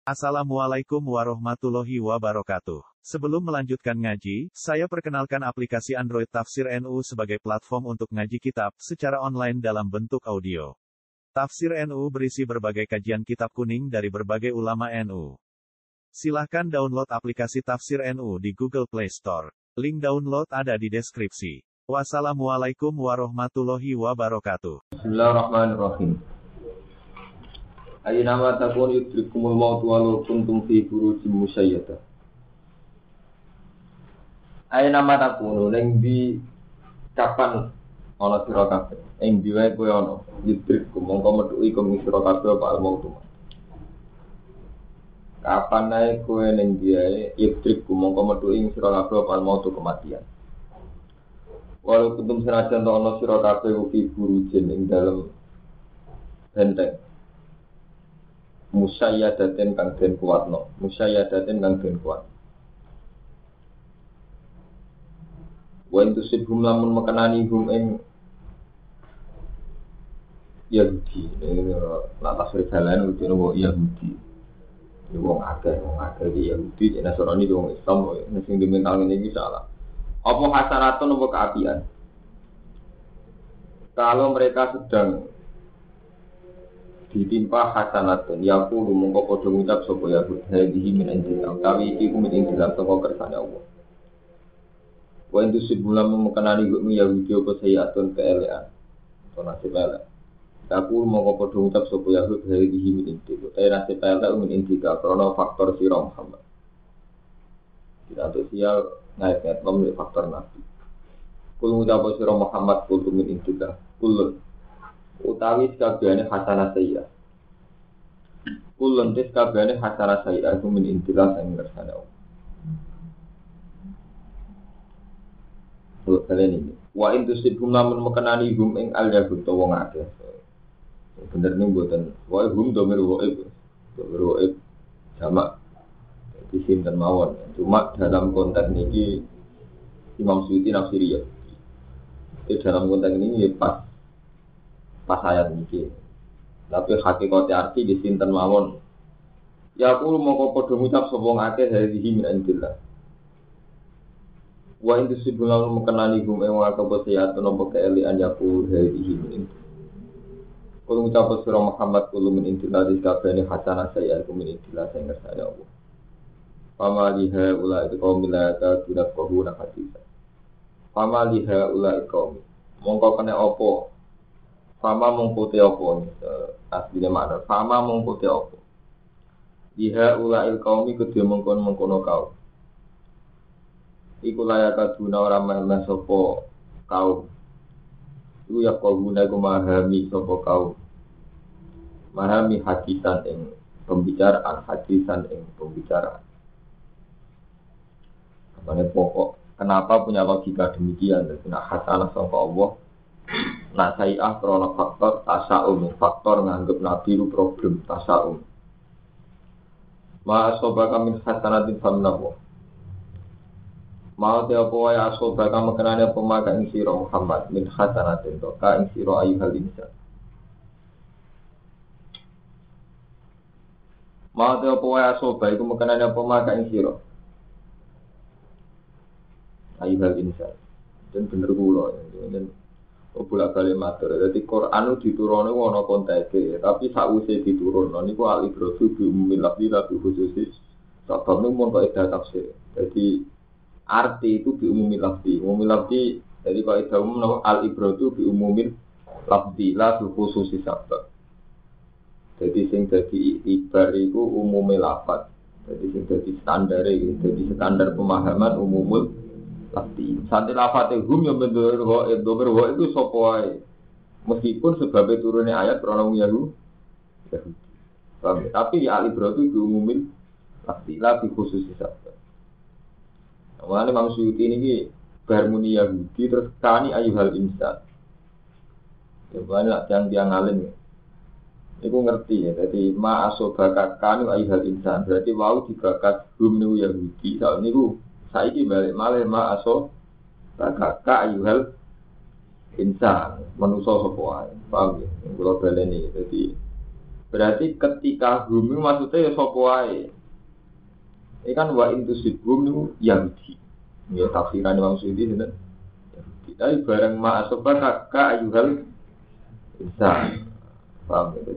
Assalamualaikum warahmatullahi wabarakatuh. Sebelum melanjutkan ngaji, saya perkenalkan aplikasi Android Tafsir NU sebagai platform untuk ngaji kitab secara online dalam bentuk audio. Tafsir NU berisi berbagai kajian kitab kuning dari berbagai ulama NU. Silahkan download aplikasi Tafsir NU di Google Play Store. Link download ada di deskripsi. Wassalamualaikum warahmatullahi wabarakatuh. Bismillahirrahmanirrahim. Ayo nama takun yudrikumul maut walau kuntum fi burujim musyayyada. Ayo nama takun neng di kapan ana sira kabeh. Ing diwe kowe ana yudrikum mongko metuki kum sira kabeh apa maut. Kapan ae kowe ning diwe yudrikum mongko metuki sira kabeh apa maut kematian. Walau kuntum senajan ana sira kabeh fi burujin ing dalem benteng musyayadatin kang den kuatno, musyayadatin kang den kuat. Wa intusibhum lamun mekenani hum ing Yahudi, ini latas risalan udah nopo Yahudi. Ini wong akeh di Yahudi, ini Nasrani di wong Islam, ini sing dimental ini salah. Apa hasanatun apa keapian? Kalau mereka sedang ditimpa hasanatun yaku mongko padha ngucap sapa ya hadhihi min indillah utawi iki ku min indillah saka kersane Allah wa intusibula mekenani gum Yahudi apa sayatun keelean to nasib elek yaku mongko padha ngucap sapa ya hadhihi min indillah ta nasib elek min indillah karena faktor sira Muhammad tidak sosial naik nomor faktor nabi kul ngucap sira Muhammad kul min indillah kul utawi sakabehane hasanah sayya. Kulun tes kabehane hasanah sayya iku min intilah sing ngersane Allah. Kalian ini. Wa intusibhum lamun mekenani hum ing al-yahud to wong akeh. Bener ning mboten. Wa hum domir waib. Domir waib jamak di sinten mawon. Cuma dalam konteks niki Imam Suyuti nafsiri ya. Di dalam konteks ini pas ayat ini, tapi hakikatnya arti di sinten mawon. Ya aku mau kau ngucap sobong akeh dari min indillah. Wa intusibul mekenani gum ing wa kabosiyatun apa keelian yaku dari min. Kalau ngucap surah Muhammad kulo min indillah dikabehane hasanah saya aku min indillah sing ngersane Allah. Fama liha ula itu kaum milata tidak kohuna hadis. Fama liha ula kaum mongko kena apa? Fama mengkuti apa aslinya makna fama mengkuti apa diha ulail kaumi kedua mengkono kaum iku layak kaduna ora meh sapa kaum iku ya kaumuna iku mahami sapa kaum mahami hadisan ing pembicaraan apa pokok kenapa punya logika demikian dan hasanah sangka Allah. Nah sayi'ah krono faktor tasa'um, faktor nganggep nabi itu problem tasa'um. Ma asobaka min hasanatin famnahu. Ma te apa wae asobaka mekenane apa maka ing sira Muhammad min hasanatin to ka ing sira ayyuhal insan. Ma te apa wae asobaka iku mekenane apa maka ing sira ayyuhal insan. Dan bener kula dan bolak balik matur. Jadi Quran itu diturunkan wono konteks, tapi sausé diturunkan niku al-ibratu bi umumil lafzi tapi khususi sebab niku mun kok tafsir. Jadi arti itu bi umumil lafzi. Umumil lafzi jadi kok itu umum al-ibratu bi umumil lafzi la khususi sebab. Jadi sing dadi ibar iku umumil lafaz. Jadi sing dadi standar iki, dadi standar pemahaman umumul tapi santi lafate hum yang bendur itu sapa wae. Meskipun sebabnya turunnya ayat krono Yahudi. Tapi di al-ibro itu diumumin pasti lebih khusus saja. Awalnya Imam Suyuti ini bermuni Yahudi terus kani ayyuhal insan. Ya banyak yang dia ngalim. Iku ngerti ya. Jadi ma asobaka kani ayyuhal insan. Berarti wau dibakat hum niku Yahudi. Soal niku saiki balik malih ma aso ka ayyuhal insan manusa sapa wae paham ya kula baleni dadi Berarti ketika hum itu maksudnya ya sapa wae. Ini kan wa intusibhum itu Yahudi. Ya tafsiran Imam Suyuti sinten. Yahudi. Tapi bareng ma asobaka ka ayuhal insan. Paham ya?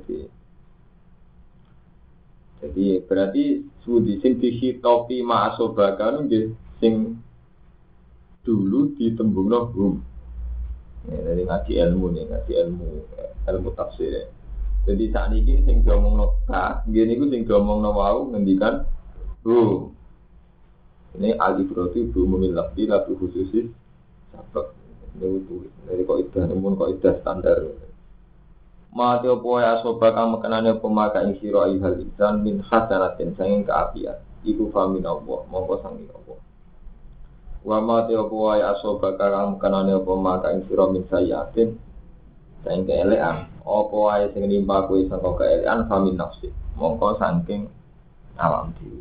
Jadi berarti sudi sing dihitopi ma asobaka itu sing dulu ditembungno hum. Ya, dari ngaji ilmu nih, ngaji ilmu tafsir. Jadi saat ini sing diomongno ka, ngene iku sing diomongno wau ngendikan hum. Ini al-ibratu bi umumil lafzi la bi khususis sabab. Ini itu dari kaidah namun kaidah standar. Mate opo ya soba kang mekenane pemaka ing sira ayyuhal insan min hasanatin sanging kaapian. Iku famin Allah, mongko sangi Allah. Wa mate opo ya soba kang mekenane pemaka ing sira min sayatin sanging keelekan. Opo wae sing nimpa kuwi sangka keelekan famin nafsi. Mongko saking alam dhewe.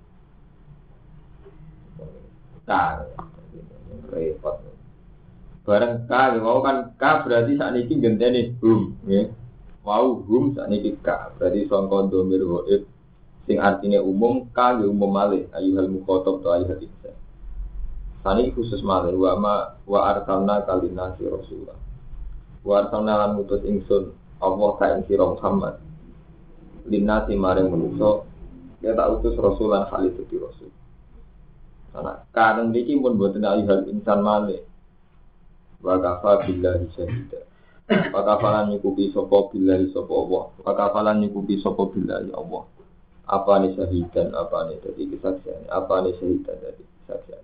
Repot. Bareng ka, mau kan ka berarti saat ini genteni hum, ya. Mau hum saat ini ka, berarti sangka domir waib, sing artinya umum ka ya umum malih, ayuhal mukhotob atau ayuhal insan. Saat ini khusus malih, wa arsalna kalina si Rasulullah. Wa arsalna lan mutus ingsun Allah ka ing sira Muhammad. Linasi maring manusa, ya tak utus Rasulan khalid di Rasul. Karena kadang ini pun buat ayuhal insan malih. Wa kafa billahi syahida. Wa kafalan nyukupi sapa billahi sapa Allah. Wa kafalan nyukupi sapa billahi Allah. Apa ni syahidan, apa ni dadi kesaksian, apa ni syahidan dadi kesaksian.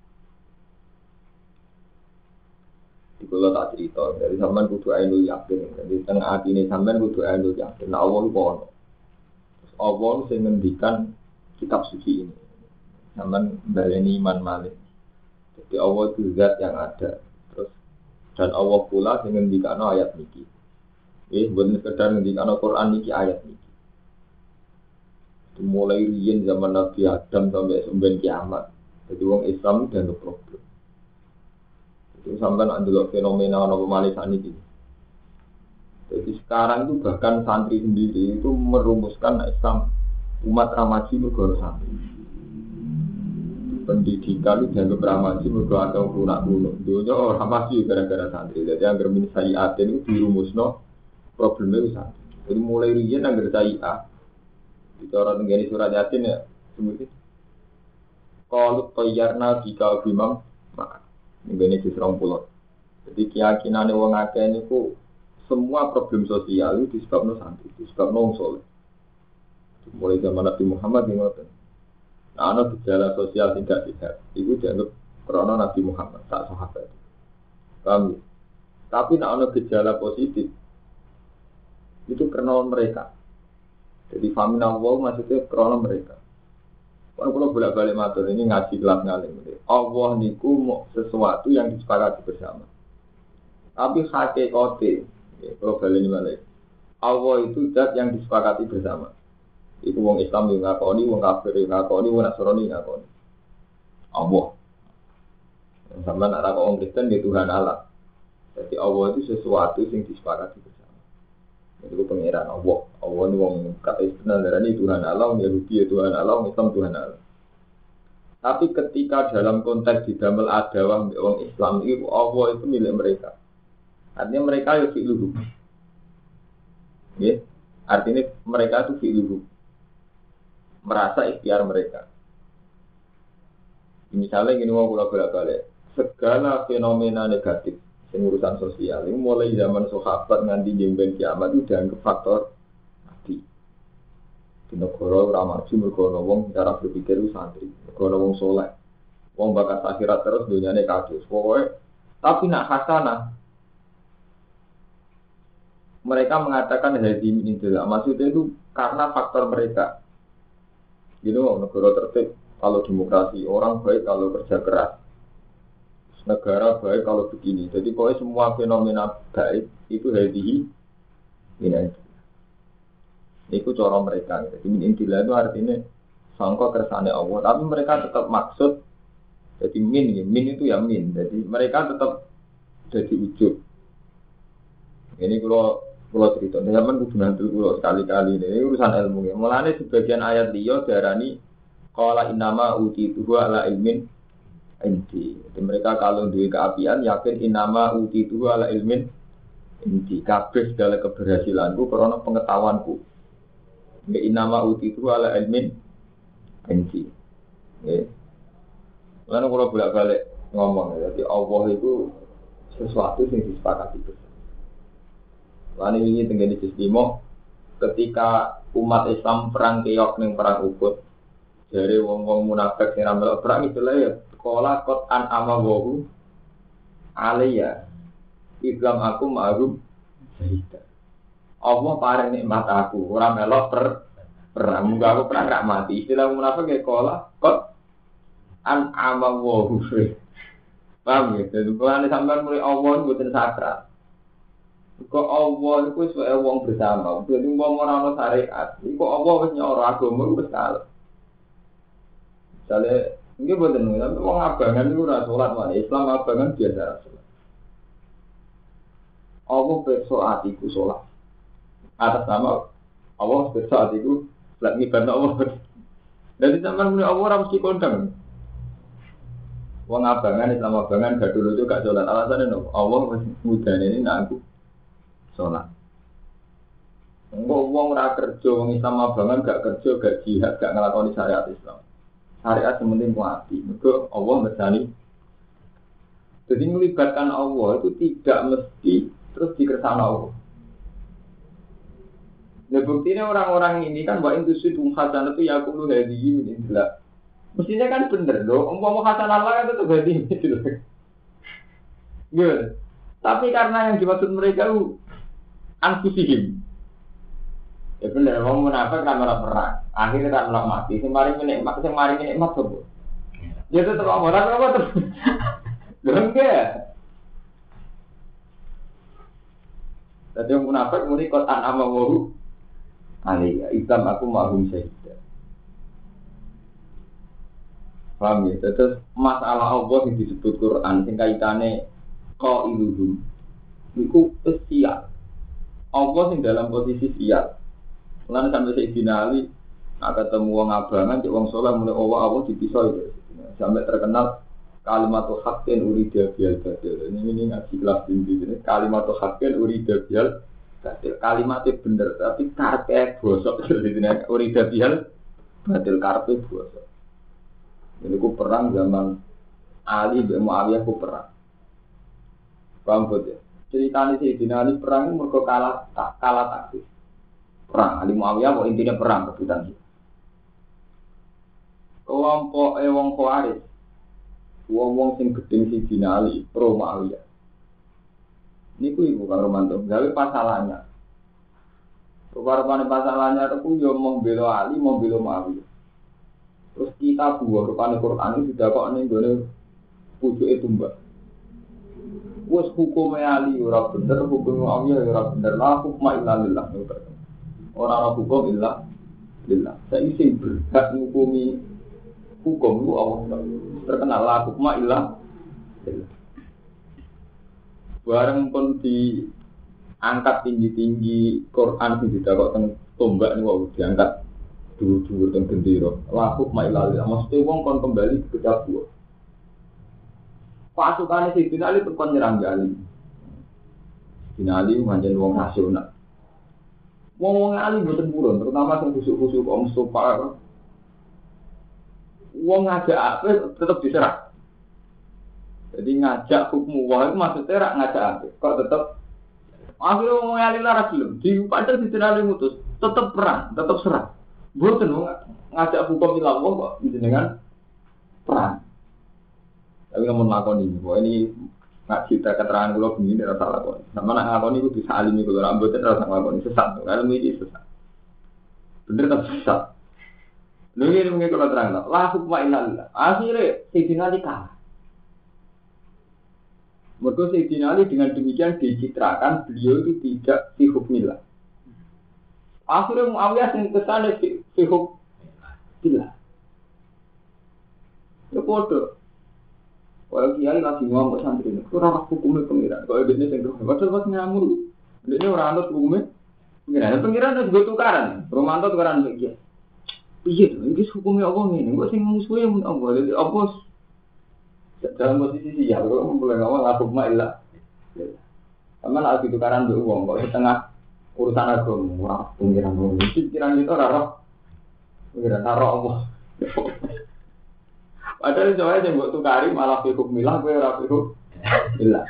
Dikula tak cerita, dari sampean kudu ainul yakin. Jadi teng atine sampean kudu ainul yakin. Nah Allah iku ono. Terus Allah sing ngendikan kitab suci ini. Sampean baleni iman malih. Jadi Allah itu zat yang ada. Terus dan Allah pula sing ngendikano ayat niki. Mboten sekedar ngendikano Quran niki ayat niki. Mulai riyen zaman Nabi Adam sampai sampai kiamat. Jadi wong Islam dianggap problem. Itu sampai nak ndelok fenomena ana pemalih saniki. Jadi sekarang itu bahkan santri sendiri itu merumuskan Islam umat ramaji mergo santri. Pendidikan itu dianggap ramaji mergo atau kuno. Dunia orang ramaji gara-gara santri. Jadi anggar min sayiatin itu dirumusno problemnya itu santri. Jadi mulai riyen anggar sayiat. Itu orang tenggani surat Yasin ya, seperti kalau toyarna jika bimam, maka ini serong pulau. Jadi keyakinan orang akeh ini ku semua problem sosial itu disebabkan santri, disebabkan orang soleh. Mulai zaman Nabi Muhammad yang ngoten. Nah, ada gejala sosial tidak sehat, itu dianggap karena Nabi Muhammad tak sahabat. Paham ya? Tapi ada gejala positif, itu karena mereka. Jadi famina Allah maksudnya krono mereka. Kalau bolak-balik matur ini ngaji kelas ngalim. Allah niku mau sesuatu yang disepakati bersama. Tapi hakikate, kalau balik balik, Allah itu zat yang disepakati bersama. Itu wong Islam yang ngakoni, wong kafir yang ngakoni, wong Nasrani yang ngakoni. Allah. Sama nak orang Kristen di Tuhan Allah. Jadi Allah itu sesuatu yang disepakati bersama. Itu pengiran Allah. Allah ini wong kata istilah darah ini Tuhan Allah, Yahudi Tuhan Allah, Islam Tuhan Allah. Tapi ketika dalam konteks di dalam adawah orang Islam itu Allah itu milik mereka. Artinya mereka itu fi'luhu. Ya, artinya mereka itu fi'luhu. Merasa ikhtiar mereka. Misalnya gini mau bolak-balik. Segala fenomena negatif urusan sosial ini mulai zaman sahabat nganti jemben kiamat itu dianggap faktor nabi. Di negara ramaju mergo wong cara berpikir itu santri, mergo wong soleh. Wong bakat akhirat terus dunyane kacau. Pokoknya tapi nak hasanah mereka mengatakan hadi min indillah. Maksudnya itu karena faktor mereka. Gitu negara tertib kalau demokrasi, orang baik kalau kerja keras. Negara baik kalau begini. Jadi pokoknya semua fenomena baik itu hadihi ini. Itu cara mereka. Jadi intilah itu artinya sangka kersane Allah. Tapi mereka tetap maksud. Jadi min itu ya min. Jadi mereka tetap jadi ujub. Ini kalau Pulau cerita, zaman kudu nanti pulau sekali-kali ini urusan ilmu ya. Mulane sebagian ayat liya darani qala innama utituhu ala ilmin indi. Jadi mereka kalau duwe keapian yakin innama utituhu ala ilmin indi. Kabeh segala keberhasilanku karena pengetahuanku. Ya innama utituhu ala ilmin indi. Ya. Lalu kalau bolak-balik ngomong ya, jadi Allah itu sesuatu yang disepakati bersama. Lalu ini tenggene Istimo ketika umat Islam perang keok ning perang Uhud dari wong-wong munafik sing ramal perang itu lah ya sekolah kot an amawahu alaiya Islam aku ma'rum syahida Allah paring nikmat aku ora melok perang muga aku perang rak mati istilah munafik ya sekolah kot an amawahu paham ya jadi kalau sampean mulai Allah mboten sakral kok Allah itu sebagai wong bersama. Jadi wong ora ono syariat. Iku Allah wis nyoro agama wis kalah. Misale nggih boten tapi wong abangan iku ora salat wae. Islam abangan biasa salat. Allah besok atiku salat. Atas nama Allah besok atiku salat ngibadah Allah. Jadi sampean muni Allah ora mesti kondang. Wong abangan Islam abangan gak dulu itu gak salat. Alasannya Allah wis mudane ini nak aku sholat. Wong ora kerja, wong Islam abangan gak kerja, gak jihad, gak ngelakoni syariat Islam. Syariat sementing kuati. Mergo Allah mesani. Jadi melibatkan Allah itu tidak mesti terus dikersana Allah. Nah buktinya orang-orang ini kan wa intu sidum hasanah itu yaqulu hadihi min indillah. Mestinya kan bener loh, umpama hasanah Allah itu hadihi gitu. Gitu. Tapi karena yang dimaksud mereka itu anfusihim. Ya bener, wong munafik kan ora perang. Akhirnya kan ora mati. Sing maring nikmat sapa? Ya tetep ora terus. Lho enggak. Dadi wong munafik muni kot an amawu. Ali Islam aku ma'hum syahida. Paham ya? Terus masalah Allah yang disebut Quran sing kaitane qailuhum. Iku sial. Allah sing dalam posisi sial. Lan sampai Sayyidina Ali ketemu wong abangan, cek wong saleh mulai Allah dipisah itu. Sampai terkenal kalimatul haqqin urida bil batil. Ini ngaji kelas tinggi ini kalimatul haqqin urida bil batil. Kalimatnya bener tapi karepe bosok jadi urida bil batil karepe bosok. Ini ku perang zaman Ali bin Muawiyah ku perang. Paham ya? Ceritanya Sayyidina Ali perang mergo kalah taktis. Perang Ali Muawiyah kok intinya perang rebutan itu. Kelompok wong Khawarij. Wong sing gedeng Sayyidina Ali pro Muawiyah. Niku ibu Kang Romanto gawe pasalannya. Rupa-rupane pasalannya itu yo mau bela Ali, mau bela Muawiyah. Terus kita buah rupane Quran itu sudah kok ning gone pucuke tumbak. Wes hukum Ali ora bener, hukum Muawiyah ora bener. La hukma illa lillah. Ora ana hukum illa lillah. Saiki sing berhak ngukumi hukum itu Allah. Terkenal la hukma illa lillah. Bareng pun diangkat tinggi-tinggi Quran sing didakok teng tombak niku diangkat dhuwur-dhuwur teng gendera. La hukma illa lillah. Mesti wong kon kembali ke Jawa. Pasukan Sayyidina Ali tekon nyerang Ali. Sayyidina Ali manjen wong nasional. Wong Ali mboten purun, terutama sing khusuk-khusuk Om Mustofa. Wong ngajak apik tetep diserang. Jadi ngajak hukum wah itu maksudnya rak ngajak apik. Kok tetep akhirnya wong Ali lara gelem. Di padahal Sayyidina Ali mutus, tetep perang, tetep serang. Mboten ngajak hukum ilang kok jenengan perang. Tapi kamu lakon ini, bahwa ini nak cerita keterangan kalau begini tidak salah lakon. Sama nak lakon itu bisa alimi kalau rambutnya tidak salah lakon sesat, kalau ini sesat. Bener tapi sesat. Lalu ini mungkin kalau terang lah, la hukma illallah. Akhirnya Sayyidina Ali kalah. Maka Sayyidina Ali dengan demikian dicitrakan beliau itu tidak fi hukmillah. Akhirnya Muawiyah yang kesana fi hukmillah. Ya bodoh. Kalau kiai lagi ngomong santri ini, kurang hukumnya pengiran. Kalau bisnis yang doa, padahal pas ngamur, Ini orang anut hukumnya. Pengiran itu tukaran. Romanto tukaran begini. Iya, ini hukumnya apa nih? Gue sih musuhnya mun apa? Jadi apa? Dalam posisi ya, kalau mulai ngomong aku malah. Sama lah itu tukaran beruang. Kalau setengah urusan agama, wah pengiran ngomong. Pikiran itu raro. Pengiran raro apa? Padahal soalnya yang buat tukari malah hukum milah, gue rapi hukum milah.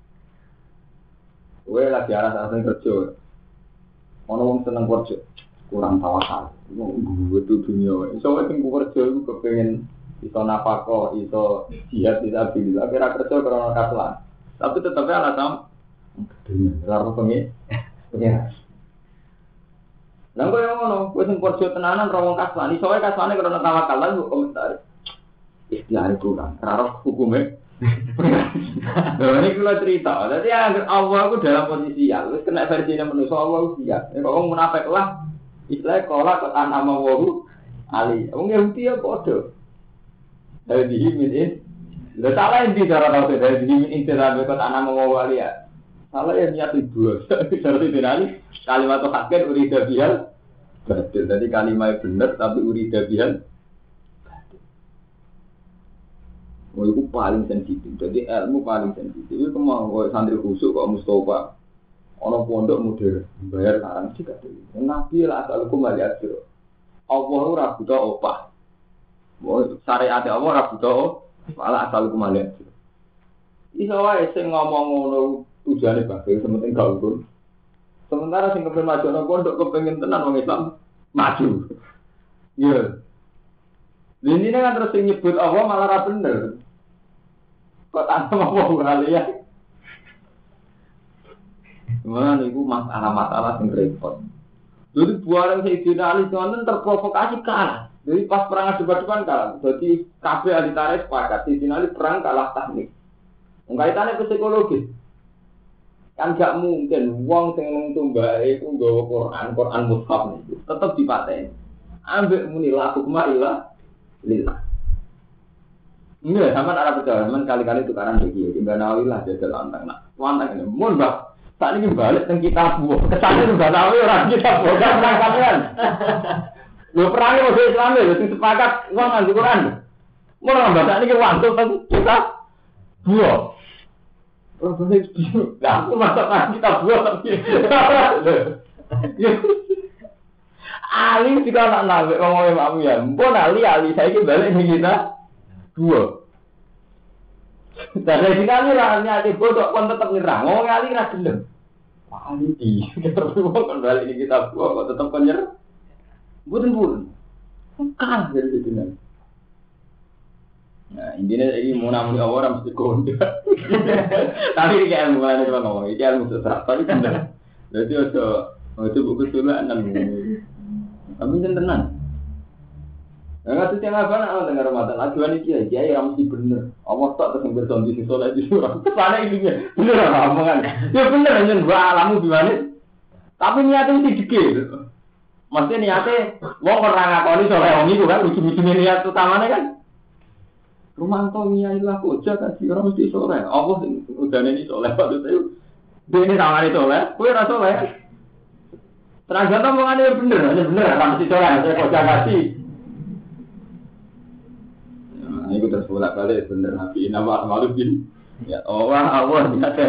Gue lagi arah-arah kerja. Ono wong seneng kerja, kurang tawakal. Gue tuh dunia. Soalnya tinggal kerja itu kepengen iso nafkah, iso jihad, iso bila. Kira kerja karena kaslan. Tapi tetapnya alasan dunia. Lalu pengen. Lalu yang ngono, gue sing kerja tenanan rawong kaslan. Soalnya kaslannya karena tawakal lah, gue komentar. Istilah kurang. Karena hukumnya. Nah, ini kalau cerita, jadi Allah itu dalam posisi ya, terus kena versinya manusia Allah siap. Kalau orang munafik lah, istilahnya kolak ketan ama wahu ali. Orang Yahudi ya bodoh. Dari dihimin, lo salah yang di cara tahu dari dihimin intiran ketan ama wahu ali ya. Salah yang niat itu, seperti dinali kalimat hakir urida bihal. Betul, jadi kalimat benar tapi urida bihal. Oh, itu paling sensitif. Jadi ilmu paling sensitif. Itu mau santri khusyuk kok Mustafa. Orang pondok modern bayar sekarang juga dulu. Nabi lah asal hukum balik aja. Allah ora buta opah. Syariat Allah ora buta malah asal hukum balik aja. Iso wae sing ngomong ngono tujuane bae sementing gak ukur. Sementara sing kepen maju nang pondok kepengin tenan wong Islam maju. Iya. Ini kan terus nyebut Allah malah ra bener. Kok tanpa mau kalian? Mana niku masalah sing repot. Jadi buaran Sayyidina Ali itu terprovokasi kalah. Jadi pas perang debat-debat kalah. Jadi kabeh ahli tarikh sepakat Sayyidina Ali perang kalah teknik. Kaitannya psikologis. Kan gak mungkin wong sing ngtumbake iku nggawa Quran mushaf niku tetep dipateni. Ambek muni la hukma illa lillah. Enggak, sama arah percaya, kali-kali tukaran begini. Tiba Nawawi lah jajal lantang. Nah, lantang ini, mohon mbak. Saat ini balik tentang kitab buah. Kesannya sudah tahu orang kitab buah. Gak pernah kalian. Lo perangnya mau Islam ya, jadi sepakat uang nganggu Quran. Mau orang mbak saat ini wantu tentang kitab buah. Oh, boleh bingung. Nah, aku masak kitab buah tapi. Ali juga anak nabi ngomongin mamu ya. Mpun Ali saya ini balik nih kita. Dua. Dan dari kali rahanya di bodoh pun tetap nyerang. Ngomong Ali ra gelem. Ali di. Terus kan balik nih kita dua kok tetap nyerang. Buten. Kalah dari situ nih. Nah, intinya ini mau namun orang mesti kondang. Tapi ini kayak ilmu mana cuma ngomong. Ini ilmu sesat. Tapi benar. Jadi itu buku tulaan. Tapi tenang. Enggak setiap apa nak dengar Ramadan. Ajuan ini kiai yang mesti bener. Allah tak terus bersonji si soleh di surah. Sana ini bener omongan. Ya bener hanya dua alamu gimana. Tapi niatnya mesti dikit. Maksudnya niatnya, wong orang ngakoni soleh wong itu kan ujung-ujungnya niat utamanya kan. Rumanto nyailah koja kasih orang mesti soleh. Allah udah ini soleh waktu itu. Dia ini tangan itu soleh. Kue rasa soleh. Ternyata omongannya bener, hanya bener. Orang mesti soleh. Saya koja kasih. Ini terus bolak-balik bener Nabi nama Malukin. Ya Allah niat.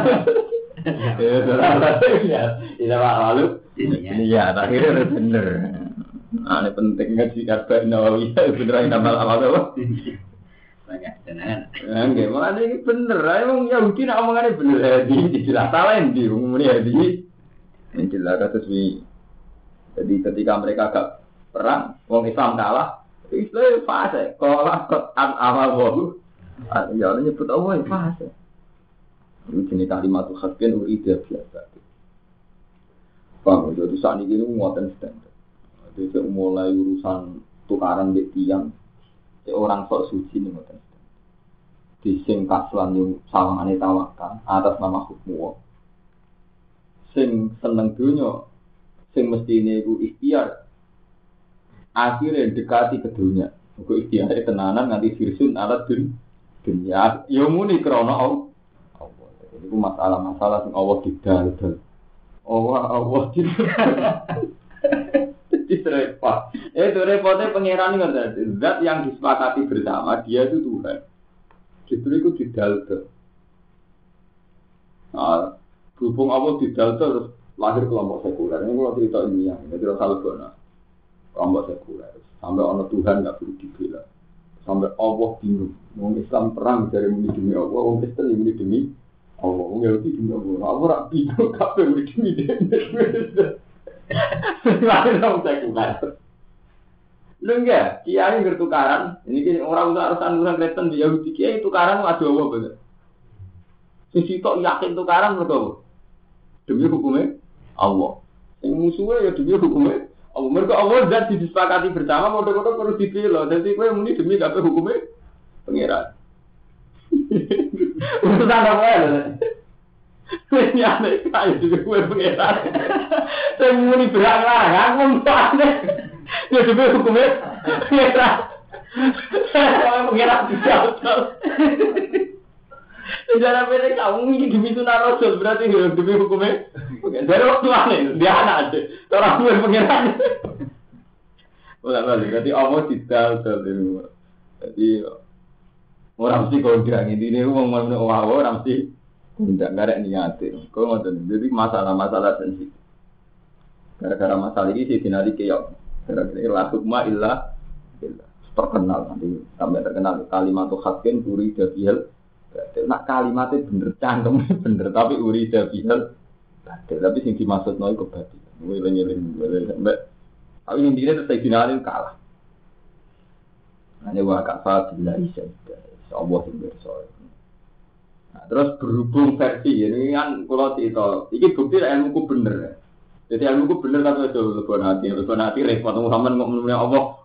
Ini malu. Iya, akhirnya bener. Ini pentingnya di Arba'in Nawawi beneran nama apa? Banyak jenengan. Nggih, makane iki bener. Emang Yahudi nek omongane bener. Di jelas salah ndi umumnya di. Jelas kados wi. Jadi ketika mereka agak perang, wong Islam kalah. Islam fase, kolak kotan amal wahu. Ya orang nyebut Allah fase. Ini jenis kalimat khaskin ide biasa. Paham? Jadi saat ini muatan standar. Jadi mulai urusan tukaran di tiang, orang sok suci ini muatan standar. Di sing kaslan yang sawangane tawakal atas nama hukum. Sing seneng dunia, sing mesti ini ibu ikhtiar. Akhirnya dekati ke dunia. Aku ikhtiarnya tenanan nganti firsun alat dunia. Ya muni krono Allah. Itu masalah-masalah yang Allah didal. Allah jadi repot. Itu repotnya pangeran itu zat yang disepakati bersama dia itu Tuhan. Justru itu didalto. Nah, berhubung Allah didalto terus lahir kelompok sekuler. Ini kalau cerita ini yang jadi Rasulullah. Kelompok sekuler. Sampai orang Tuhan nggak perlu dibela. Sampai Allah bingung. Orang Islam perang dari muni demi Allah, orang Kristen muni demi Allah, orang Yahudi demi Allah. Allah rak bingung kapan muni demi dia. Lalu orang sekuler. Lu enggak, kiai bertukaran. Ini orang urusan Kristen di Yahudi kiai tukaran ada Allah bener. Sisi tok yakin tukaran mereka demi hukumnya Allah. Yang musuhnya ya demi hukumnya Allah. Mereka Allah dan disepakati bersama model-model perlu dipilih. Jadi kowe muni demi kabeh hukumnya pengiran. Urusan apa ya? Ini aneh kaya juga kowe pengiran. Saya muni berang-lang, ngomong ya demi hukumnya pengiran. Saya pengiran dijauh. Sejarah pendek kamu ini demi sunnah Rasul berarti demi hukumnya. Dari waktu aneh dia anak aja. Orang tua pengiran. Ulang-ulang. Berarti Allah tidak terlalu. Jadi orang mesti kau bilang ini orang mesti tidak ada niatin. Kau ngotot. Jadi masalah sensitif. Gara-gara masalah ini sih dinari keok. Gara-gara la hukma illa terkenal nanti sampai terkenal kalimat hakin uri dabiel. Nak kalimatnya bener cangkem bener tapi urida bihal tapi sing dimaksud noy kebati ngeling sampai tapi intinya terus finalin kalah hanya wakafah bila isa Allah yang bersoal. Nah, terus berhubung versi ini kan kalau cerita ini bukti ilmuku bener jadi ilmuku bener tapi itu lebih hati repot Muhammad ngomongnya Allah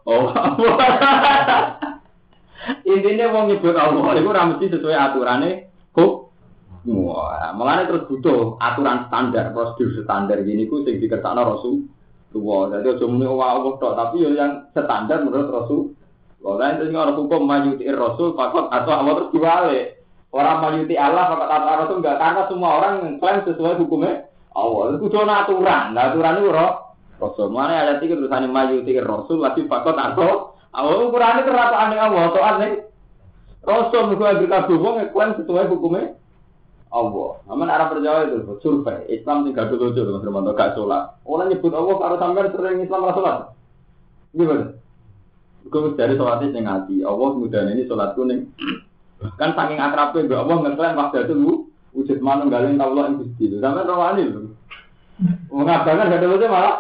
intinya mau nyebut Allah itu mesti sesuai aturannya kok makanya terus butuh aturan standar prosedur standar gini ku sing dikersakno Rasulullah jadi aja muni Allah tok tapi yang standar menurut Rasul lain itu orang hukum mayuti Rasul fakot atau Allah terus diwale orang mayuti Allah fakot atau Rasul enggak karena semua orang klaim sesuai hukumnya Allah itu cuma aturan itu Rasul mana ada tiga tulisannya mayuti Rasul wajib fakot atau Allah ukurannya kerapaan Allah, soalnya Rasul juga berkata bohong, klaim sesuai hukumnya Allah. Namun arah perjalanan itu survei Islam tinggal dulu dulu, termasuk gak sholat. Orang nyebut Allah kalau sampai sering Islam nggak sholat, gimana? Gue dari sholatnya yang ngaji, Allah kemudian ini sholat kuning. Kan saking akrabnya, Allah ngeklaim waktu itu lu wujud mana galeng Allah yang gusti. Sampai rawani lu, mengatakan gak ada malah.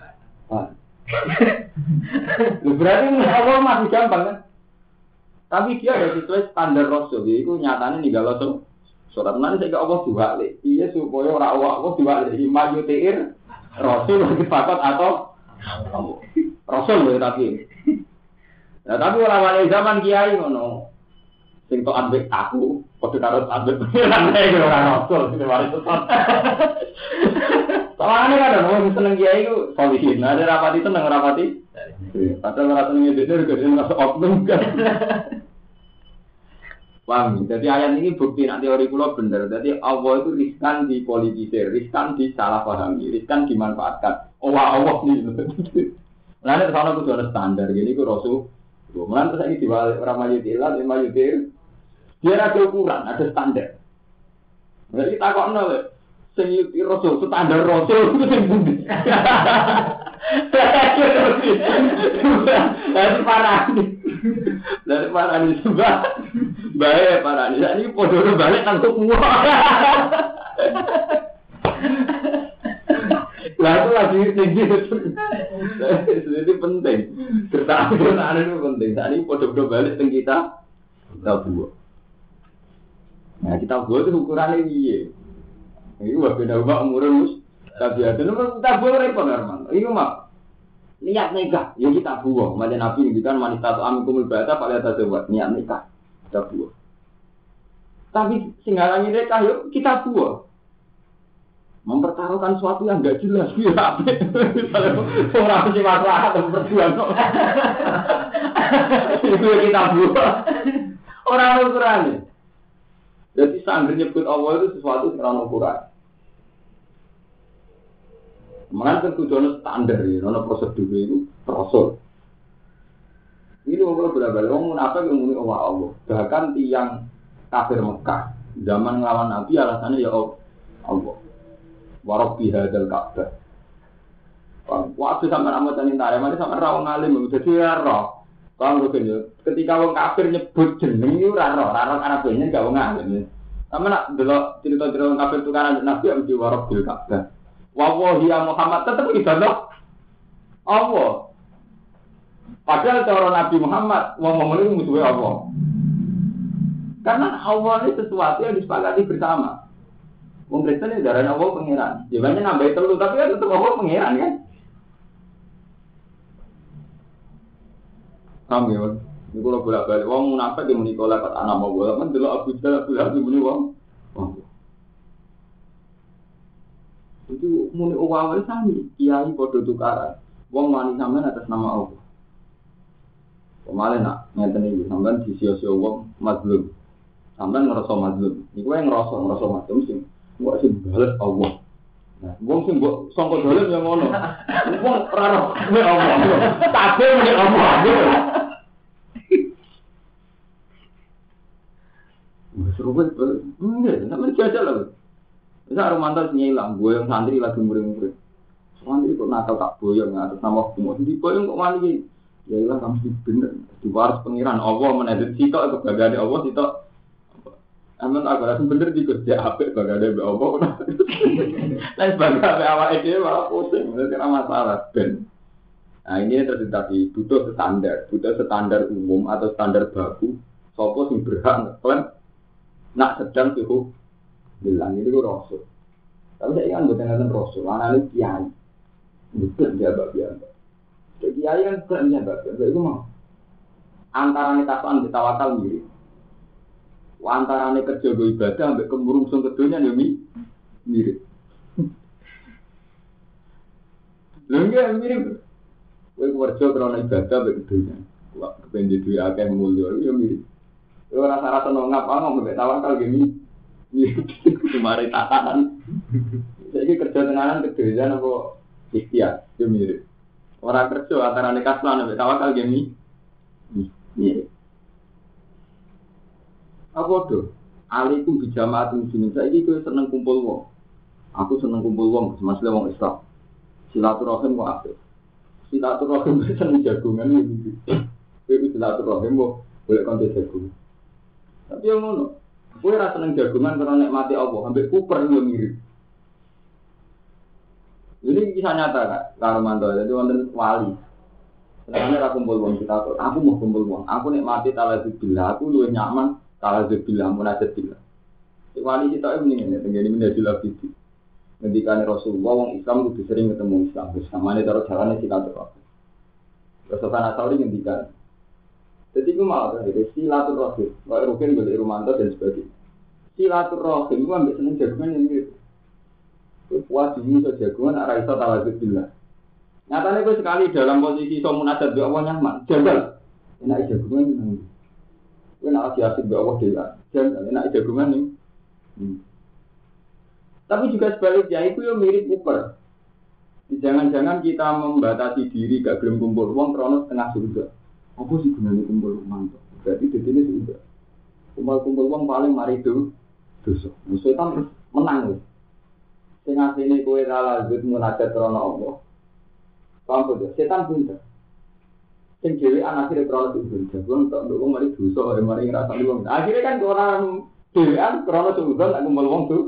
Berarti Allah masih gampang kan? Tapi dia ada sesuai standar Rasul. Itu nyatanya nih kalau surat nanti saya Allah diwali. Iya supaya orang Allah diwali. Mayutir Rasul lebih fakat atau Rasul lebih tapi. Nah tapi orang zaman kiai ngono. Sing tok ambek aku, padha karo ambek pengiran orang Rasul sing mari tenan. Soalnya kan orang seneng kiai itu solihin. Ada rapati seneng rapati. Padahal orang seneng itu juga masuk oknum kan. Paham? Jadi ayat ini bukti nanti teori kula bener. Jadi Allah itu riskan dipolitisir, riskan disalahpahami, riskan dimanfaatkan. Allah nih. Lalu kesana itu ada standar. Jadi itu Rasul. Lalu terus ini diwalik orang mayutilah, mayutir. Dia ada ukuran, ada standar. Jadi kita kok nol. Senyuti Rasul, standar Rasul itu yang budi. Dari parah ini sebab baik parah ini. Ini podo balik langsung semua. Lah itu lagi tinggi itu. Jadi penting. Kertaan itu penting. Saat ini podo balik teng kita buat. Nah kita buat itu ukurannya iya. Ini wah beda ubah umurnya tapi ada nomor kita buang repot normal. Ini mah niat nikah, ya kita buang. Macam Nabi ngendikan wanita tu amikumul bata pada tasawuf niat nikah kita buang. Tapi singgalangi nikah yuk kita buang. Mempertaruhkan sesuatu yang enggak jelas ya. Orang sih masalah atau berjuang. Itu kita buang. Orang ukurannya. Jadi sangger nyebut Allah itu sesuatu sekarang ukuran. Makanya kan kudu standar ya, ono prosedur itu rasul. Ini kalau berbalik, orang munafik yang muni Allah. Bahkan tiang kafir Mekah zaman ngelawan Nabi alasannya ya Allah. Warabbi hadzal Ka'bah. Waktu sampai amat tani tare, mari sampai rawang alim, jadi roh. Kalau ketika orang kafir nyebut jeneng itu raro Arabnya gak orang alim. Sama nak delok cerita-cerita orang kafir tukaran Nabi yang di Warabbil Ka'bah. Wallahi ya Muhammad tetap ibadah Allah. Padahal cara Nabi Muhammad ngomong itu musuhnya Allah. Karena Allah ini sesuatu yang disepakati bersama. Wong Kristen ini darahnya Allah pengiran. Jawabannya nambah telu tapi kan tetap Allah pengiran kan. Kamu ya, ini kalau bolak-balik wong munafik yang muni kolak kata anak mau bolak kan delok Abu Jahal muni wong. Itu muni awal sami kiai padha tukaran. Wong wani sampean atas nama Allah. Kemarin nak ngeten iki sampean disio-sio wong mazlum. Sampean ngerasa mazlum. Iku wae ngerasa mazlum sing kok sing bales Allah. Nah, wong sing mbok sangka dalem ya ngono. Wong ora roh Allah. Kabeh muni Allah. Seru banget. Enggak, sampean jajal lho. Bisa Romanto nyilang, gue yang santri lagi murid-murid. Santri kok nakal tak boyong atas nama hukum. Di boyong kok mani? Ya ilah kamu sih bener. Di waris pengiran Allah menedit sitok atau bagade Allah sitok. Aman aku rasa bener di kerja apik bagade Allah. Lain bagade awak ide malah pusing. Itu kira masalah ben. Nah ini terjadi butuh standar umum atau standar baku. Sopo sing berhak ngeklaim nak sedang suhu bilang ini gue rasul. Tapi saya ingat bukan rasul, analis kiai. Betul dia bagian. Jadi kiai kan bukan dia bagian. Jadi gue mau antara nih tafan ditawakal mirip. Antara nih kerja gue ibadah sampai kemurungsung keduanya nih mirip. Lengkap mirip. Gue kerja karena ibadah sampai keduanya. Wah kepengen duit akeh mulia itu mirip. Gue rasa-rasa nongap ngomong sampai tawakal gini. Kemarin tatanan. Jadi kerja tenanan kerjaan apa ikhtiar, itu mirip. Orang kerja antara nekaslan sampai tawakal gini, mirip. Apa tuh? Alikum bijamaatin sini. Saya itu seneng kumpul wong. Aku seneng kumpul wong, masalah wong Islam. Silaturahim kok aktif. Silaturahim seneng jagungan gitu. Itu silaturahim kok boleh kontes jagungan. Tapi yang ngono. Gue rasa seneng jagungan karena nikmati Allah, sampai kuper yang mirip. Ini kisah nyata kak, Romanto. Jadi wonten wali. Sebenarnya aku kumpul uang kita, aku mau kumpul uang. Aku nikmati talazubillah, aku lebih nyaman talazubillah, munajatbillah. Si wali kita ini mendingan, tenggini menjadilah bidi. Ngendikan Rasulullah, orang Islam lebih sering ketemu Islam. Bersamanya taruh jalannya silaturahim. Rasulullah Nasauri ngendikan. Jadi itu malah dari silaturahim, kalau Rukin boleh Romanto dan sebagainya. Silaturahim itu ambil seneng jagungan yang gitu. Wah dulu so jagungan arah iso talazubillah. Nyatanya gue sekali dalam posisi so munajat doa Allah nyaman, jagal. Enak jagungan ini. Gue nak asik doa Allah dia, jagal. Enak jagungan ini. Tapi juga sebaliknya itu yang mirip Uber. Jangan-jangan kita membatasi diri gak gelem kumpul uang kronos setengah surga. Apa sih gunanya kumpul uang? Berarti di sini sudah. Kumpul uang paling mari itu dosa. Setan terus menang. Sing asline kowe ra lanjut munajat krana Allah. Paham to? Setan pinter. Sing dhewe akhire krana sujud. Jago untuk wong mari dosa, mari ngrasani wong. Akhire kan orang dhewean krana sujud tak kumpul wong tuh.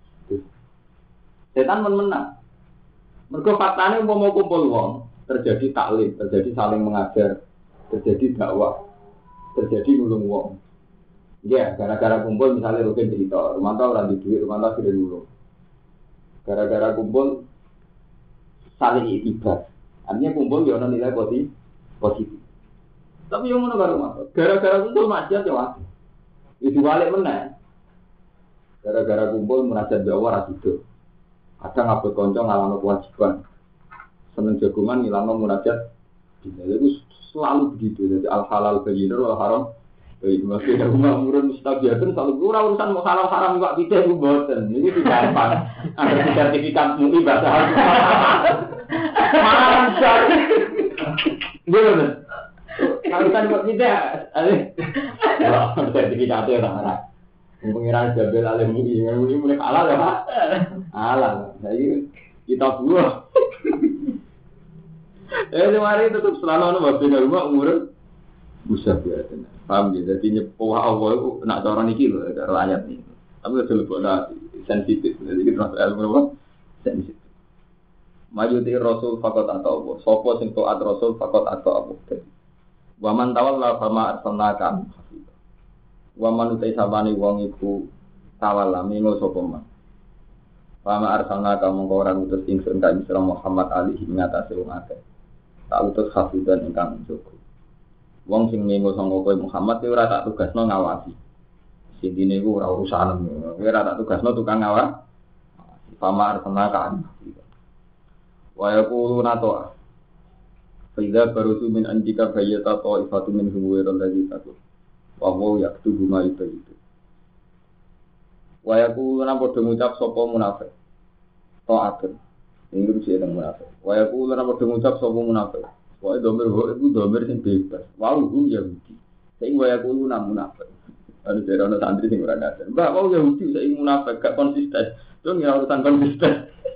Setan menang. Mergo faktane umpama kumpul wong, terjadi taklim, terjadi saling mengajar, terjadi dakwah, terjadi nulung wong. Ya, gara-gara kumpul misalnya Rukin cerita, Romanto ora di duit, Romanto sudah nulung. Gara-gara kumpul saling iktibar. Artinya kumpul ya ana nilai positif. Tapi yang ngono karo Mas. Gara-gara kumpul maksiat ya wae. Itu balik meneh. Gara-gara kumpul munajat dakwah ra sido. Kadang ngabot kanca ngalahno kewajiban. Seneng jagungan ngilangno munajat. Itu selalu begitu. Jadi al halal bayyinun wal haram Masih ada umur mustabiatun selalu urusan mau halal haram juga tidak buatan. Ini tidak gampang. Ada sertifikat MUI bahasa Arab. Mantap. Gimana? Urusan kok tidak. Ada sertifikatnya orang. Pengiran Jabel alim MUI, MUI mulai halal ya Pak. Halal. Jadi kita buah. Kemarin tetap selalu ada babnya rumah umur mustabiatun. Paham ya, jadi nyepuh Allah itu nak cara niki lho, cara ayat ini. Tapi udah lebih sensitif, jadi kita masuk ilmu apa? Sensitif. Maju di Rasul fakot atau Allah, sopo sing taat Rasul fakot atau Allah. Waman tawalla fama arsalnaka. Waman utai sabani wong iku tawalla mingo sopo man. Fama arsalnaka mongko ora utus ingsun ka Isra Muhammad alaihi ngatasi wong akeh. Tak utus hafizan ingkang njogo. Wong sing minggu sangka kowe Muhammad iki ora tak tugasno ngawasi. Sintine iku ora urusan. Kowe ora tak tugasno tukang ngawasi. Pamar tenakan. Wa yaquluna to. Faiza barusu min anjika bayyata ta'ifatu min huwairal ladzi taqul. Wa huwa yaktubu ma yubayyitu. Wa yaquluna padha ngucap sapa munafik. Ta'atun. Ini rusi yang munafik. Wa yaquluna padha ngucap sapa munafik. Wah, domir itu domir yang bebas. Wow, Yahudi. Saya ingin bayar dulu namun munafik. Ada daerah santri yang berada. Mbak, wow Yahudi saya ingin munafik, gak konsisten. Itu nggak urusan konsisten.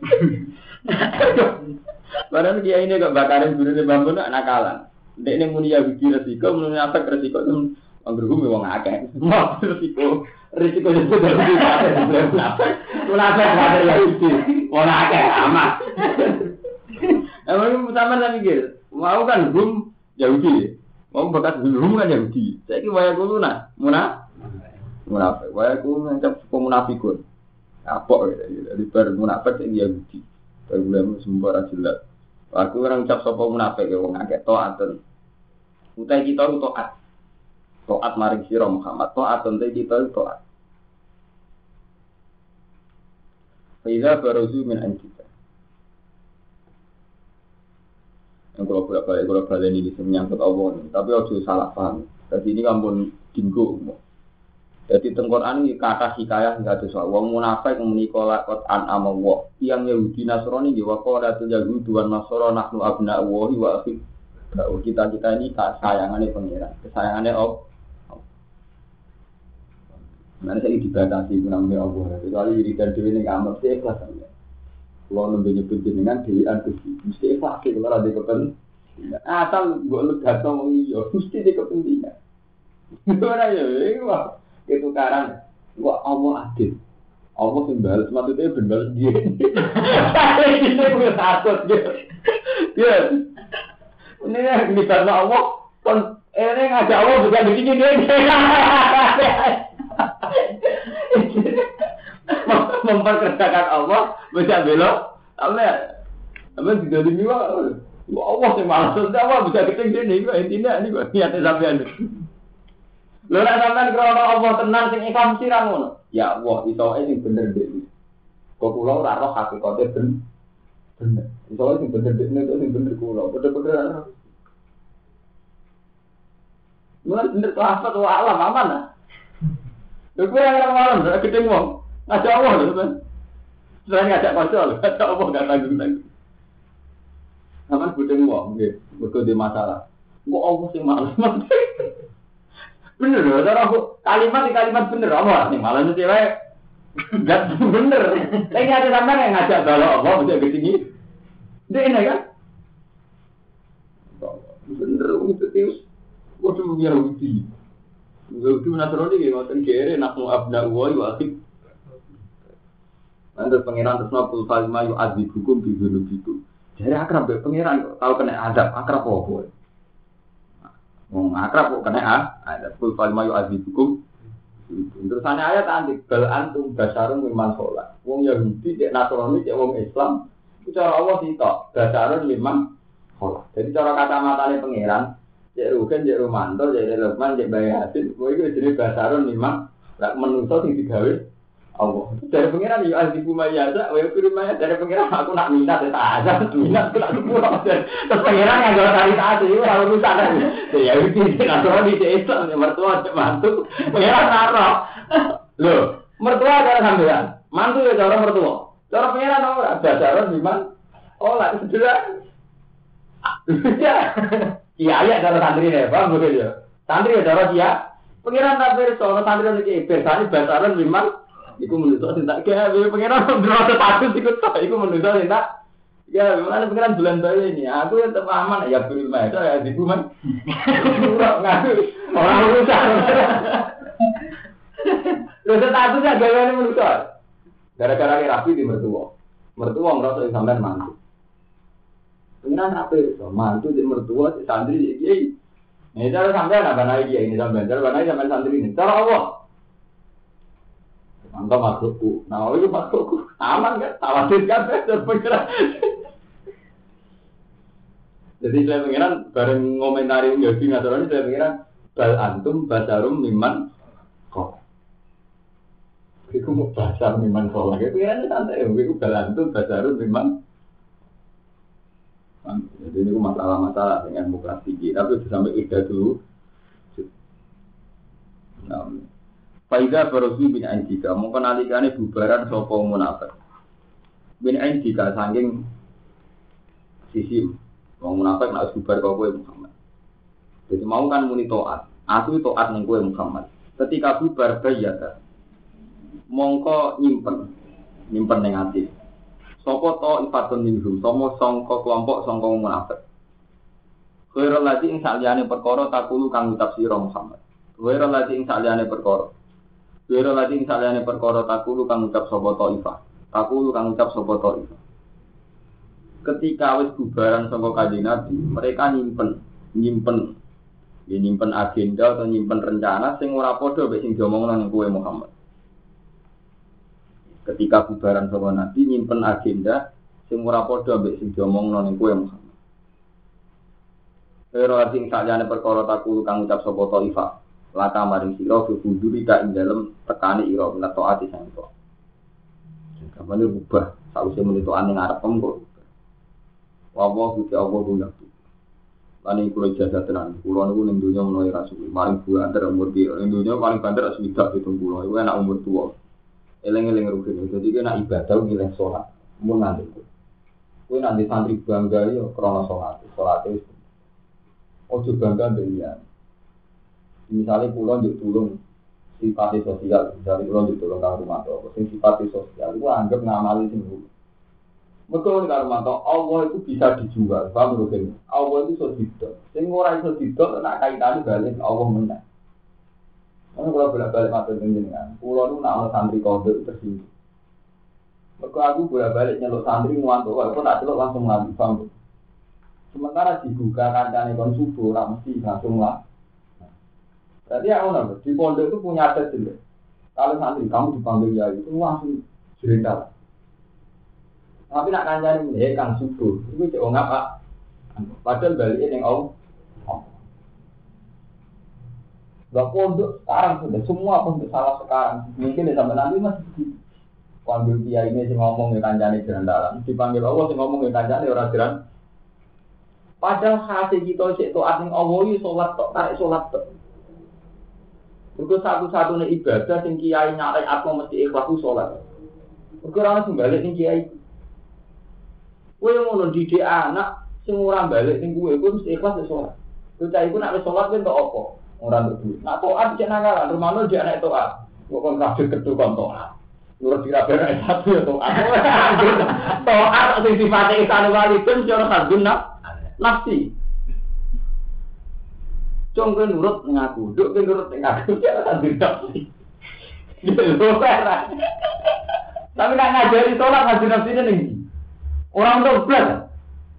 Padahal dia ini gak bakarin dulu di bambu nak nakalan. Dia ini muni Yahudi resiko, muni munafik resiko itu anggerhumi wong akeh. Mau resiko itu dari munafik. Munafik ada Yahudi. Wong akeh amat. Emang sama lagi gitu. Mau kan belum Yahudi, mau bekas belum kan Yahudi. Saya kira wayang kulo nak, munafik. Wayang kulo ngancap pemunafikun. Apa gitu? Dari bermunafik saya Yahudi. Berbulan sembarang jelas. Aku orang cap sopo munafik ya wong akeh taatun. Utai kita itu taat. Taat maring sira Muhammad. Taatun utai kita itu taat. Faiza baruzu min anjika. Yang kalau balik ini menyangkut Allah ini, tapi harus salah paham. Jadi ini kampun dinggo. Jadi Al-Qur'an ini kata hikayah nggak ada soal. Wong munafik menikah lakot an amawah. Yang Yahudi Nasrani di wakodatul Yahudi wan Nasrani nahnu abna Allahi wa akhir. Kita ini kesayangannya pengiran, kesayangannya Allah. Mana saya dibatasi namanya Allah. Kecuali dirikan diri ini kamar saya ikhlas saja. Kalau nembe nyebut jenengan dewan Gusti, mesti ikhlas kalau ada kepentingan. Asal mbok legato wong iya, mesti di kepentingan. Ora ya, wah, ketukaran. Wah, Allah adil. Allah sing balas maksudnya ben balas dia. Ini kuwi takut dia. Ya. Ini karena Allah kon ngajak Allah juga begini dia. Memperkerjakan Allah bisa belok apa tidak dimiwa Allah yang malas Allah bisa keting ini intinya ini niatnya sampean lho nek sampean krana Allah tenan sing ikhlas sira ngono ya Allah isoke sing bener dhewe kok kula ora roh hakikate bener isoke sing bener dhewe sing bener kula bener-bener ana mulai bener to apa to alam aman ah lho kowe ora malam ora keting wong ngajak Allah lho kan. Selain ngajak pasal, ngajak Allah enggak tanggung-tanggung. Aman budeng wong nggih, mergo di masalah. Kok Allah sing malas. Bener lho, cara aku kalimat bener apa sing malas iki wae. Enggak bener. Lagi ada sampean yang ngajak balok Allah bisa ke sini. Dene kan? Bener itu tius. Waduh Yahudi. Yahudi Nasrani iki ngoten kere nahnu abna wa akhir. Anda pengiran terus nopul falma yu azib hukum di gunung itu. Jadi akrab pengiran tahu kena adab akrab apa? Akrab kok kena adab ful falma yu azib hukum. Terusannya ayat nanti bal antum basarun mimman sholat. Wong Yahudi cek Nasrani cek wong Islam. Itu cara Allah sitok basarun mimman sholat. Jadi cara kacamata pengiran cek Rugen cek Romanto cek Lukman cek Bayi Hasid. Wong itu jenis basarun mimman. Lak menungso sing digawe Allah. Dari pengiran ya azibu mayasa, wa firmaya dari pengiran aku nak minat ya tak minat nak sepuluh. Terus pengiran yang jual cari taat itu ora urusan. Ya iki nek ora di Islam ya mertua mantu. Pengiran naruh. Loh, mertua cara sampean. Mantu ya cara mertua. Cara pengiran ora bajaran iman. Oh, lah sudah. Ya. Iya cara santri ne, paham betul ya. Santri ya cara dia. Pengiran tak perso santri iki bersane bajaran iman. Iku menurut saya tak gawe pengiran ndrono status iku tok iku menurut saya tak ya memang pengiran bulan bae ini aku tetep aman ya beri mah ya ibu man ora ngaku ora urusan lho statusnya gaweane menurut saya gara-gara rapi di mertua merasa sampean mantu pengiran rapi so mantu di mertua si santri iki ini cara sampean apa naik ini sampean cara naik sampean santri ini cara Allah mantap makhlukku, nah itu makhlukku aman kan, tawadir kan, berpikiran. Jadi saya pengiran bareng ngomentari Yahudi Nasrani saya pengiran bal antum basarum miman kok. Iku mau basar miman kok lagi pengiran santai, iku bal antum basarum miman. Jadi ini masalah-masalah dengan muka tinggi, tapi sampai ida dulu. Nah, Faidah Barozi bin Aindika, mungkin alikane bubaran sopo munafik. Bin Aindika saking sisi, wong munafik nak bubar kau kowe Muhammad. Jadi mau kan muni toat, aku toat ning kowe Muhammad. Ketika bubar bayar, mongko nyimpen ning ati. Sopo to ifatun minhum, somo sangka kelompok sangka munafik. Khairul ladzi ing saliyane perkara takulu kang tafsir Muhammad. Khairul ladzi ing saliyane perkara Wira lagi misalnya perkara takulu kang ucap sapa taifah. Takulu kang ucap sapa taifah. Ketika wis bubaran saka kanjeng Nabi, mereka nyimpen agenda atau nyimpen rencana sing ora padha mek sing diomongno ning kowe Muhammad. Ketika bubaran saka Nabi nyimpen agenda sing ora padha mek sing diomongno ning kowe Muhammad. Wira lagi misalnya perkara takulu kang ucap sapa taifah. Laka maring sira bubuduri ka ing dalem tekani ira minat taati sang to. Kabane rubah sausé menitoane ngarep pembo. Wawa gusti Allah guna. Lan iki kula jasa tenan. Kula niku ning donya menawa rasul. Maring bulan ter umur iki ning donya paling banter sewidak 70. Iku enak umur tuwa. Eleng-eleng rugen. Dadi kena ibadah milih salat. Mun nanti. Kowe nanti santri bangga yo krana salat. Salate ojo bangga mbek misalnya pulau untuk tulung sifat sosial, misalnya pulau untuk tulung kang rumanto, sifat sosial itu anggap ngamali singgung. Betul kang rumanto, Allah itu bisa dijual, paham mungkin? Allah itu sodidok, sing ora iso didok nak kaitannya balik Allah menang. Karena kalau bolak-balik matur jenengan, pulau itu nak santri kode tersinggung. Mergo aku bolak-balik nyeluk santri nguanto, kok tak celuk langsung lagi, paham? Sementara dibuka kancane kon subuh, ora mesti langsung lah. Jadi aku nambah, di pondok itu punya adat jelek. Kalau santri kamu dipanggil ya itu langsung jerendal. Tapi nak kancane ini, kang subuh, itu cek ngap pak. Padahal baliknya yang Allah. Gak pondok sekarang sudah, semua pondok salah sekarang. Mungkin sampai nanti masih begitu. Panggil dia ini sih ngomong ya kancane jerendalan. Dipanggil Allah sih ngomong ya kancane orang jeran. Padahal hati kita cek toat ning Allah itu sholat tok, tarik sholat tok. Mergo satu-satunya ibadah sing kiai nyarek atmo mesti ikhlas ku salat. Mergo ora ono balik ning kiai. Kowe ngono didik anak sing ora balik ning kowe mesti ikhlas salat. Bocah iku nek wis salat ben tok apa? Ora nduk duit. Nek taat cek nanggalan, rumano dia nek taat. Kok kon kabeh ketu kon taat. Nurut diraber satu ya taat. Taat sing sifate ihsan walidin cara kadun nafsi. Cong kan nurut ngaku, duk kan nurut ngaku, dia akan tidak. Tapi nak ngajari sholat ngaji nafsinya nih, orang tuh belas.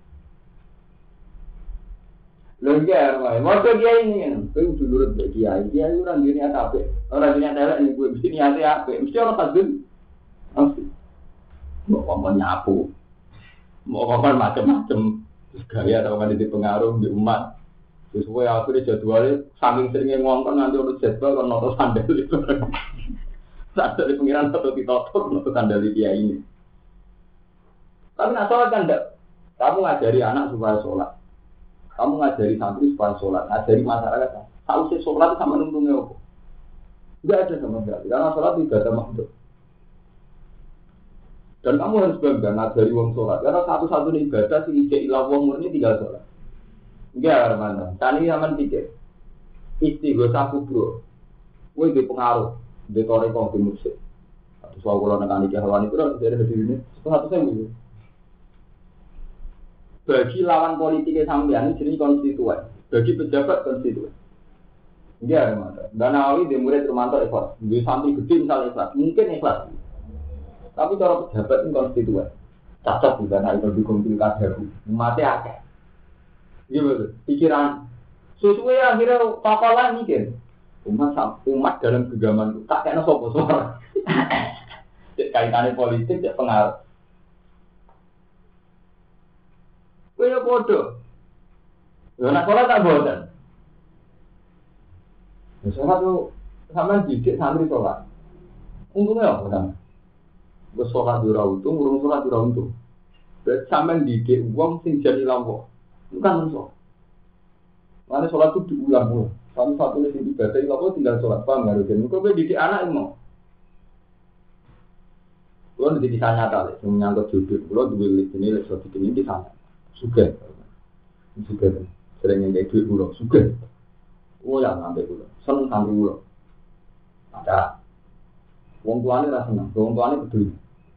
Lengkar, mau dia ini kan, kau udah nurut dia orang dunia apa? Orang dunia telek ini gue mesti niati apa? Mesti orang kadun, nafsi. Mau ngomong nyapu, mau ngomong macam-macam, gaya atau kan di pengaruh di umat. Terus gue akhirnya jadwalnya saking seringnya ngomong nanti urut jadwal kan noto sandal itu. Saat dari pengiran atau ditotok untuk kandali dia ini. Tapi nak sholat kan enggak. Kamu ngajari anak supaya sholat. Kamu ngajari santri supaya sholat. Ngajari masyarakat. Tahu sih sholat sama nuntungnya apa? Enggak ada sama sekali. Karena sholat tidak ada makhluk. Dan kamu harus bangga ngajari wong sholat. Karena satu-satunya ibadah sih ijek ilah wong murni tinggal sholat. Enggak, Armando. Tani zaman pikir. Istighosah kubro. Woi di pengaruh. Di toreko di musik. Atau soal kalau nekani kehawan itu harus dari ini. Satu saya gitu. Bagi lawan politiknya sampean jadi konstituen. Bagi pejabat konstituen. Enggak, Armando. Dan Nawawi di murid Romanto ikhlas. Di santri gede misalnya ikhlas. Mungkin ikhlas. Tapi cara pejabat ini konstituen. Cacat juga naik berdukung pilkada. Umatnya akeh. Iya betul. Pikiran sesuai akhirnya papalah mikir. Umat dalam genggaman tak kena sopo suara. Kaitannya politik ya pengaruh. Kaya bodoh. Ya nak sholat tak bodoh. Ya sholat tuh sama didik santri sholat. Untungnya apa kan? Gue sholat di untung, urung sholat di untung. Berarti sampean didik uang sing jadi lampau. Bukan sholat. Mana sholat itu diulang-ulang. Satu-satunya sing ibadah lampau tinggal sholat. Paham nggak? Jadi kau didik anak mau. Kalau nanti bisa nyata, menyangkut jodoh. Kalau dua ini suatu ini di sana. Suka. Sering yang kayak duit pulau. Suka. Oh ya sampai pulau. Seneng sampai pulau. Ada. Wong tuane rasa seneng. Wong tuane peduli.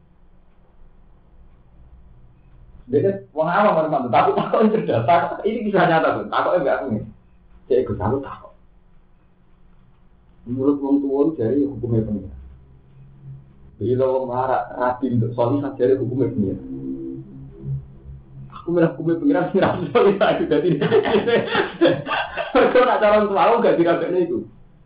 Dia wong awam orang tapi takut cerdas. Ini kisah nyata tuh. Takutnya enggak aku nih. Saya ikut takut. Menurut wong tua dari hukumnya pengira. Bila wong marah rapi untuk solihah dari hukumnya pengira. Aku merah hukumnya pengira sih rapi solihah juga tidak. Kalau nak calon tua aku gak dirabeknya itu.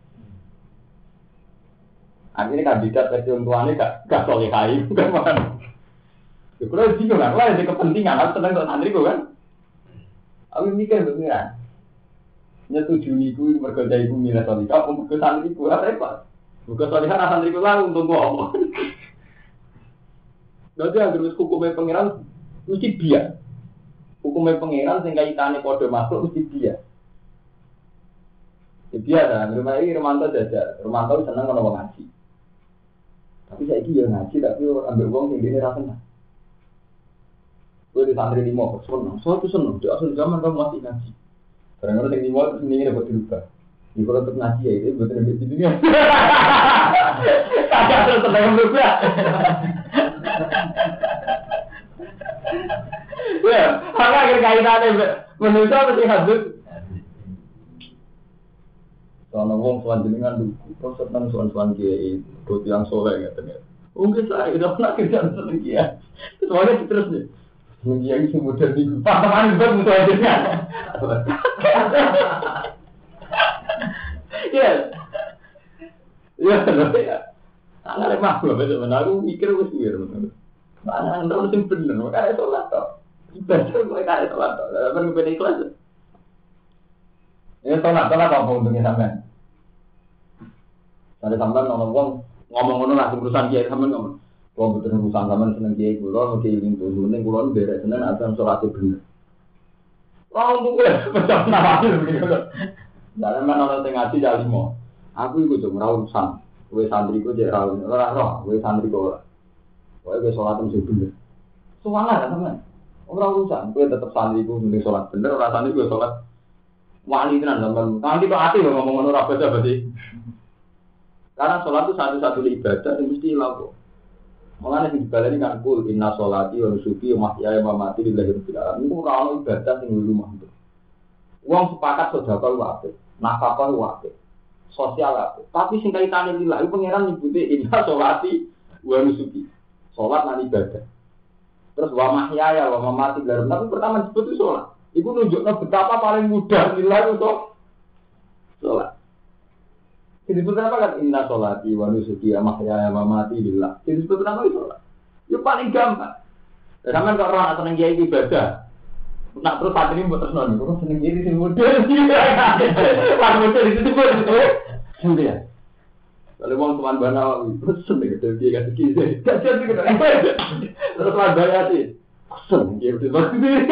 Akhirnya kandidat versi wong tuane gak solihah itu kan. Kalau bingung kan, ada kepentingan, aku tenang untuk santri kan. Aku mikir pengiran. Nyetujui ku mergo iku milih solihah, aku mergo santri ku repot. Mergo solihah santri ku lalu untuk ngomong. Dadi anggere hukume pengiran mesti biar. Hukume pengiran sing kaitane padha makhluk mesti biar. Ya biar kan, rumah ini Romanto jajar. Romanto seneng kalau ngaji. Tapi saya ini ya ngaji, tapi ambil uang sing dene ra seneng. Gue di santri 5 seneng, soal itu seneng. Di asal zaman kamu masih ngaji. Kadang-kadang yang 5 ini dapat dirubah. Di kalau untuk ngaji ya itu betul betul di dunia. Kagak terus seneng berubah. Wah, hanya akhir kaitannya menurut mesti hadut. Soalnya wong tuan jenengan dulu, kau seneng tuan kiai, buat yang soleh ya ternyata. Mungkin saya udah pernah kerja seneng kiai. Soalnya terus nih. Yang si muda di pasangan itu musuh aja. Ya. Ya. Ana lemah lho bener aku mikir wis piye bener. Ana ndang sing bener, kaya salat to. Ibadah kok kaya salat to. Lah ben ben ikhlas. Ya salat apa untungnya sampean? Ada sampean ngomong ngono lah urusan kiai sampean ngomong. Kalau betul urusan zaman seneng kiai kulo, mungkin ingin turun, kulo beres seneng asal sholatnya bener. Oh, untuk gue macam nama begitu. Dalam mana orang tengah tidak limo. Aku ikut tuh merawusan. Gue santri gue jadi rawun. Orang gue santri gue. Gue sholatnya mesti bener. Soalnya kan teman. Orang urusan. Gue tetap santri gue mending sholat bener. Orang santri gue sholat wali tenan zaman. Nanti kok hati lo ngomong apa aja berarti. Karena sholat itu satu-satu ibadah yang mesti laku. Mengenai di balik ini kan kul inna sholati wa nusuki wa mahyaya wa mamati lillahi rabbil alamin. Itu ora ibadah sing rumah itu. Wong sepakat sedekah wae, nafkah wae, sosial wae. Tapi sing kaitane lillahi pangeran nyebuti inna sholati wa nusuki. Salat lan ibadah. Terus wa mahyaya wa mamati lillahi. Tapi pertama disebut itu salat. Iku nunjukno betapa paling mudah lillahi itu salat. Jadi pertama kan inna sholati wa nusuki wa mahyaya wa mamati lillah. Jadi pertama itu sholat. Itu paling gampang. Sama kalau orang seneng kiai ibadah. Nak terus saat ini buat terus nol. Kalau seneng kiai sing model. Pas model itu tuh betul. Sudah. Kalau wong teman bana pesen nek dadi dia kasih kiri. Kasihan iki. Terus teman bana sih. Pesen iki udah pasti.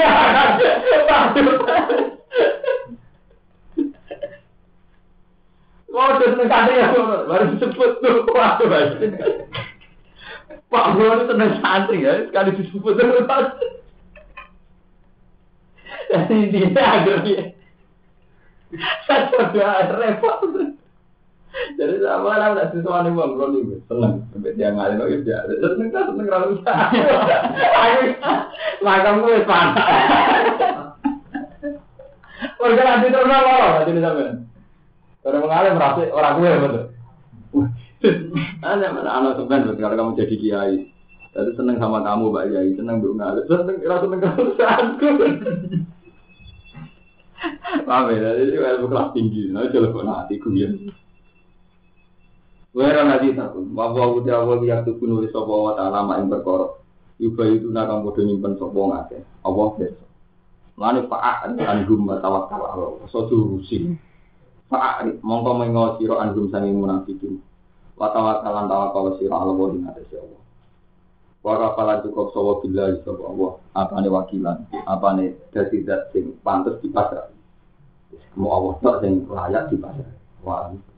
Wah, terus nek ada ya baru disebut tuh waduh Mas. Pak Bro itu seneng santri ya, sekali disebut terus. Jadi dia akhirnya saya repot. Jadi sama lah nak sesuatu bang, bro ni seneng, sampai dia ngalih lagi dia, seneng ralu sah. Makam gue panas. Warga nanti terus apa? Nanti sampai. Orang mengalih merasa orang gue betul. Anak sebenarnya kalau kamu jadi kiai, jadi seneng sama kamu Mbak Kiai, seneng mengalih, seneng kesusahanku. Paham ya, jadi ilmu kelas tinggi, nah coba hatiku ya. Wera nanti takut, bahwa udah awal yang tuh nulis sopo taala main berkorok, juga itu nakam bodoh nyimpen sopo ngake, Allah besok. Lalu Pak Anggum tawakal Allah, sojurusi. Pak mongko mengo siro Anggum sanging munafikin, watawakalan tawakal siro Allah di atas Allah. Wakapalan cukup sopo bila sopo Allah, apa nih wakilan, apa nih dari dat sing pantas di pasar. Mau Allah tak sing layak di pasar. Wah,